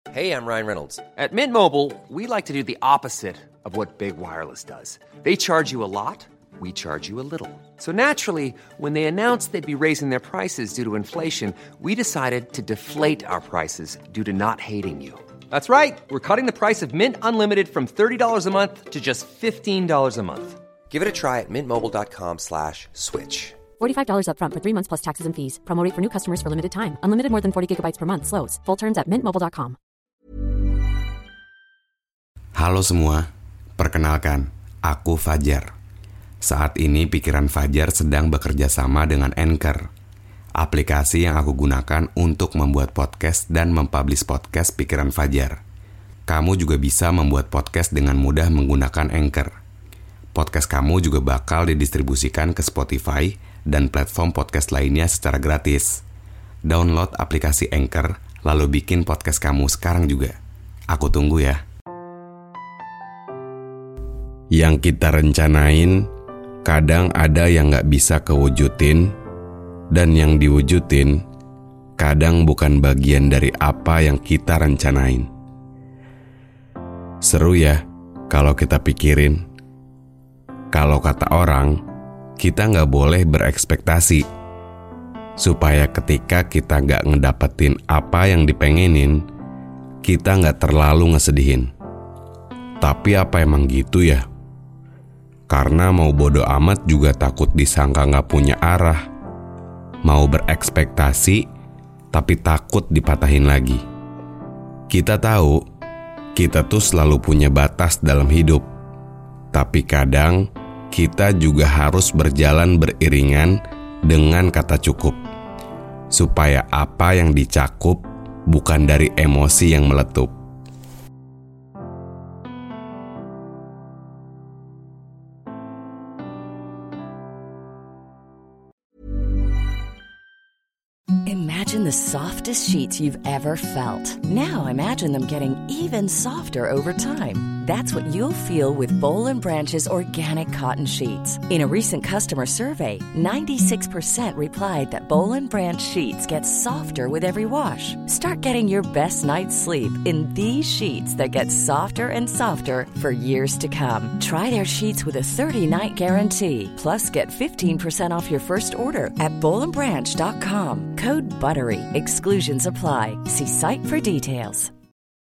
Hey, I'm Ryan Reynolds. At Mint Mobile, we like to do the opposite of what Big Wireless does. They charge you a lot, we charge you a little. So naturally, when they announced they'd be raising their prices due to inflation, we decided to deflate our prices due to not hating you. That's right. We're cutting the price of Mint Unlimited from $30 a month to just $15 a month. Give it a try at mintmobile.com/switch. $45 up front for 3 months plus taxes and fees. Promo rate for new customers for limited time. Unlimited more than 40 gigabytes per month. Slows full terms at mintmobile.com. Halo semua, perkenalkan, aku Fajar. Saat ini pikiran Fajar sedang bekerja sama dengan Anchor, aplikasi yang aku gunakan untuk membuat podcast dan mempublish podcast pikiran Fajar. Kamu juga bisa membuat podcast dengan mudah menggunakan Anchor. Podcast kamu juga bakal didistribusikan ke Spotify dan platform podcast lainnya secara gratis. Download aplikasi Anchor, lalu bikin podcast kamu sekarang juga. Aku tunggu ya. Yang kita rencanain, kadang ada yang gak bisa kewujudin, dan yang diwujudin, kadang bukan bagian dari apa yang kita rencanain. Seru ya, kalau kita pikirin. Kalau kata orang, kita gak boleh berekspektasi, supaya ketika kita gak ngedapetin apa yang dipengenin, kita gak terlalu ngesedihin. Tapi apa emang gitu ya? Karena mau bodo amat juga takut disangka gak punya arah. Mau berekspektasi, tapi takut dipatahin lagi. Kita tahu, kita tuh selalu punya batas dalam hidup. Tapi kadang, kita juga harus berjalan beriringan dengan kata cukup. Supaya apa yang dicakup bukan dari emosi yang meletup. Imagine the softest sheets you've ever felt. Now imagine them getting even softer over time. That's what you'll feel with Boll & Branch's organic cotton sheets. In a recent customer survey, 96% replied that Boll & Branch sheets get softer with every wash. Start getting your best night's sleep in these sheets that get softer and softer for years to come. Try their sheets with a 30-night guarantee. Plus, get 15% off your first order at bollandbranch.com. Code BUTTERY. Exclusions apply. See site for details.